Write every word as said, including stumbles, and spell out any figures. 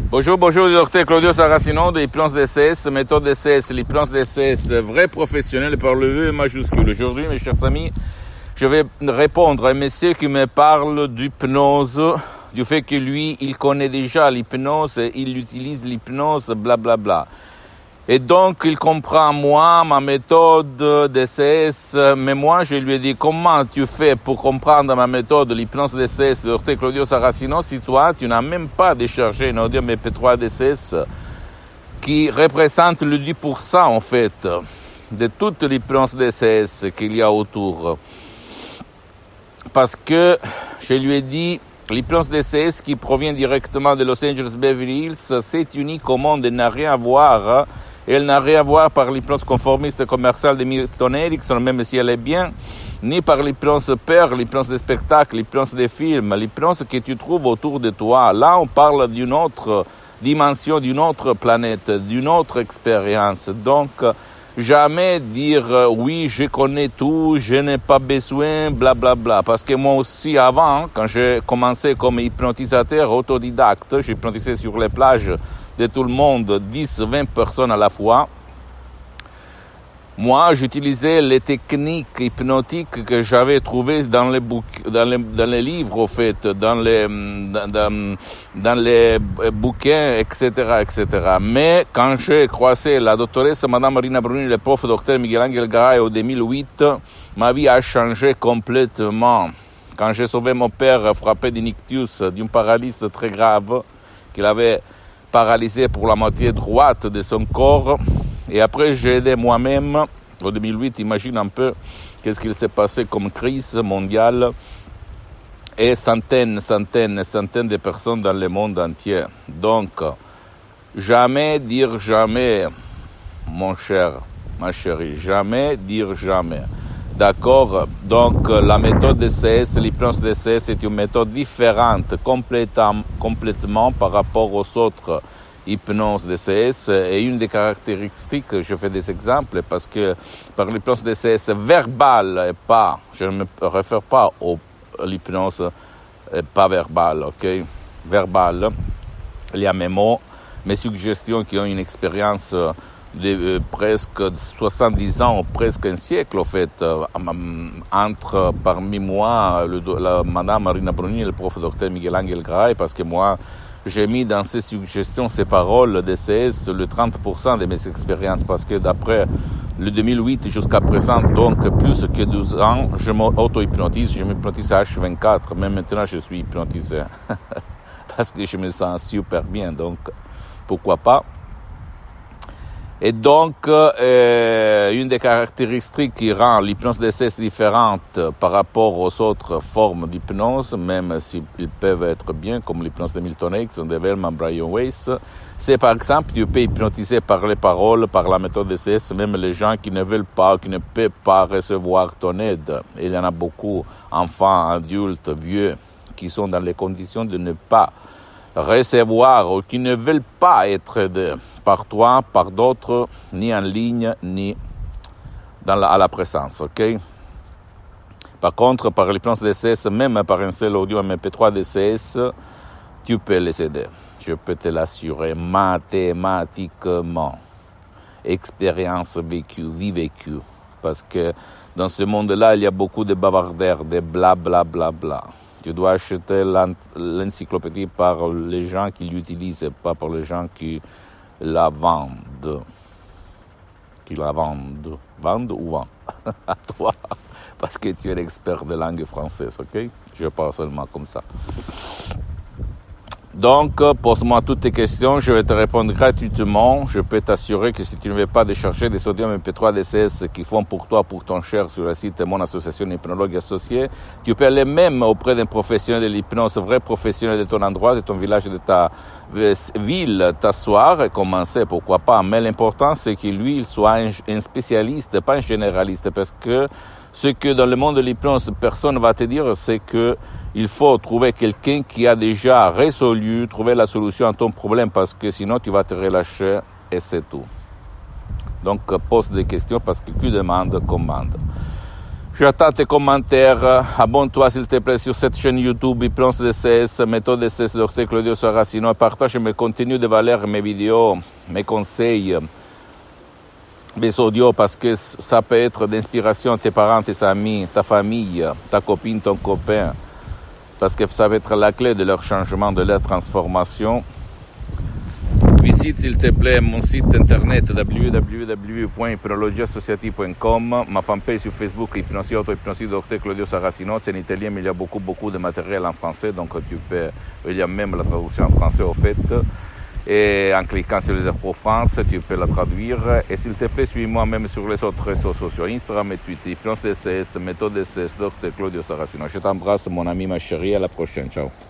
Bonjour, bonjour, docteur Claudio Saracino de l'hypnose D C S, méthode D C S, l'hypnose D C S, vrai professionnel par le V majuscule. Aujourd'hui, mes chers amis, je vais répondre à un monsieur qui me parle d'hypnose, du fait que lui, il connaît déjà l'hypnose, il utilise l'hypnose, blablabla. Bla. Et donc, il comprend moi, ma méthode D C S, mais moi, je lui ai dit, comment tu fais pour comprendre ma méthode, l'hypnose D C S, docteur Claudio Saracino, si toi, tu n'as même pas déchargé une audio M P trois D C S qui représente le dix pour cent, en fait, de toute l'hypnose D C S qu'il y a autour. Parce que, je lui ai dit, l'hypnose D C S qui provient directement de Los Angeles Beverly Hills, c'est unique au monde et n'a rien à voir. Elle n'a rien à voir par l'hypnose conformiste commerciale de Milton Erickson, même si elle est bien, ni par l'hypnose peur, l'hypnose des spectacles, l'hypnose des films, l'hypnose que tu trouves autour de toi. Là, on parle d'une autre dimension, d'une autre planète, d'une autre expérience. Donc, jamais dire euh, oui, je connais tout, je n'ai pas besoin, blablabla. Bla, bla. Parce que moi aussi, avant, quand j'ai commencé comme hypnotisateur autodidacte, j'hypnotisais sur les plages de tout le monde, dix, vingt personnes à la fois. Moi, j'utilisais les techniques hypnotiques que j'avais trouvées dans les, bouc- dans les, dans les livres, au fait, dans les, dans, dans les bouquins, et cetera, et cetera. Mais quand j'ai croisé la doctoresse Madame Marina Bruni, le prof docteur Miguel Angel Garay en deux mille huit, ma vie a changé complètement. Quand j'ai sauvé mon père frappé d'un ictus, d'une paralysie très grave, qu'il avait paralysé pour la moitié droite de son corps. Et après, j'ai aidé moi-même, en deux mille huit, imagine un peu qu'est-ce qu'il s'est passé comme crise mondiale, et centaines, centaines, centaines de personnes dans le monde entier. Donc, jamais dire jamais, mon cher, ma chérie, jamais dire jamais. D'accord? Donc, la méthode D C S, l'hypnose D C S est une méthode différente complètement, complètement par rapport aux autres hypnose D C S. Et une des caractéristiques, je fais des exemples, parce que par l'hypnose D C S verbale et pas, je ne me réfère pas à l'hypnose pas verbale, ok? Verbale, il y a mes mots, mes suggestions qui ont une expérience de euh, presque soixante-dix ans, presque un siècle, en fait, euh, entre parmi moi, le, la, Madame Marina Bruni et le prof docteur Miguel Angel Garay, parce que moi, j'ai mis dans ces suggestions, ces paroles D C S, le trente pour cent de mes expériences, parce que d'après le deux mille huit jusqu'à présent, donc plus que douze ans, je m'auto-hypnotise, je m'hypnotise à H vingt-quatre, mais maintenant je suis hypnotisé, parce que je me sens super bien, donc pourquoi pas. Et donc, euh, une des caractéristiques qui rend l'hypnose D C S différente par rapport aux autres formes d'hypnose, même s'ils peuvent être bien, comme l'hypnose de Milton Erickson, de Wellman, Brian Weiss, c'est par exemple, tu peux hypnotiser par les paroles, par la méthode D C S, même les gens qui ne veulent pas, qui ne peuvent pas recevoir ton aide. Et il y en a beaucoup, enfants, adultes, vieux, qui sont dans les conditions de ne pas recevoir ou qui ne veulent pas être aidés par toi, par d'autres, ni en ligne, ni dans la, à la présence, ok? Par contre, par l'hypnose D C S, même par un seul audio M P trois D C S, tu peux les aider. Je peux te l'assurer mathématiquement. Expérience vécue, vie vécue. Parce que dans ce monde-là, il y a beaucoup de bavardaires, de blablabla. Bla, bla, bla. Tu dois acheter l'encyclopédie par les gens qui l'utilisent, pas par les gens qui la vendent. Qui la vendent. Vendent ou vendent? À toi. Parce que tu es l'expert de langue française, ok? Je parle seulement comme ça. Donc, pose-moi toutes tes questions, je vais te répondre gratuitement. Je peux t'assurer que si tu ne veux pas décharger des sodium M P trois D C S qui font pour toi, pour ton cher, sur le site de mon association Hypnologue Associée, tu peux aller même auprès d'un professionnel de l'hypnose, vrai professionnel de ton endroit, de ton village, de ta ville, t'asseoir et commencer, pourquoi pas. Mais l'important, c'est que lui, il soit un, un spécialiste, pas un généraliste, parce que ce que dans le monde de l'hypnose, personne ne va te dire, c'est que il faut trouver quelqu'un qui a déjà résolu, trouver la solution à ton problème, parce que sinon tu vas te relâcher et c'est tout. Donc pose des questions parce que qui demande, commande. J'attends tes commentaires. Abonne-toi s'il te plaît sur cette chaîne YouTube Hypnose D C S, méthode D C S, docteur Claudio Saracino. Partage mes contenus de valeur, mes vidéos, mes conseils, mes audios, parce que ça peut être d'inspiration à tes parents, tes amis, ta famille, ta copine, ton copain, parce que ça va être la clé de leur changement, de leur transformation. Visite s'il te plaît mon site internet w w w point hypnologie associative point com, ma fanpage sur Facebook Hypnosie Auto-Hypnosie docteur Claudio Saracino. C'est en italien mais il y a beaucoup beaucoup de matériel en français, donc tu peux, il y a même la traduction en français au fait, et en cliquant sur les pour France tu peux la traduire. Et s'il te plaît suis-moi même sur les autres réseaux sociaux, Instagram et Twitter, Hypnose D C S, méthode D C S, docteur Claudio Saracino. Je t'embrasse mon ami, ma chérie, à la prochaine, ciao.